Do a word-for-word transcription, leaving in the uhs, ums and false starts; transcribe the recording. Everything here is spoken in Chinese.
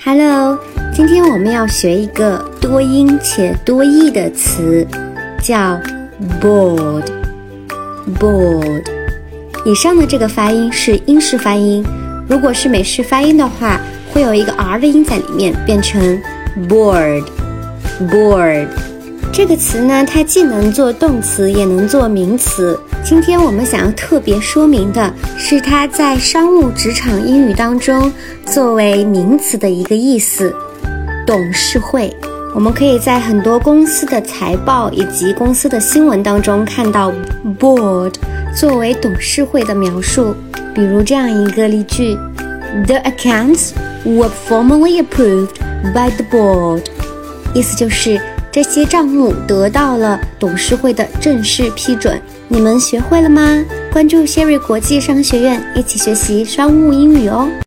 Hello， 今天我们要学一个多音且多义的词，叫 bored。bored。以上的这个发音是英式发音，如果是美式发音的话，会有一个 R 的音在里面，变成 bored。bored。这个词呢，它既能做动词，也能做名词。今天我们想要特别说明的是它在商务职场英语当中作为名词的一个意思，董事会。我们可以在很多公司的财报以及公司的新闻当中看到 board 作为董事会的描述，比如这样一个例句 The accounts were formally approved by the board， 意思就是这些账目得到了董事会的正式批准。你们学会了吗？关注 Sherry 国际商学院，一起学习商务英语哦。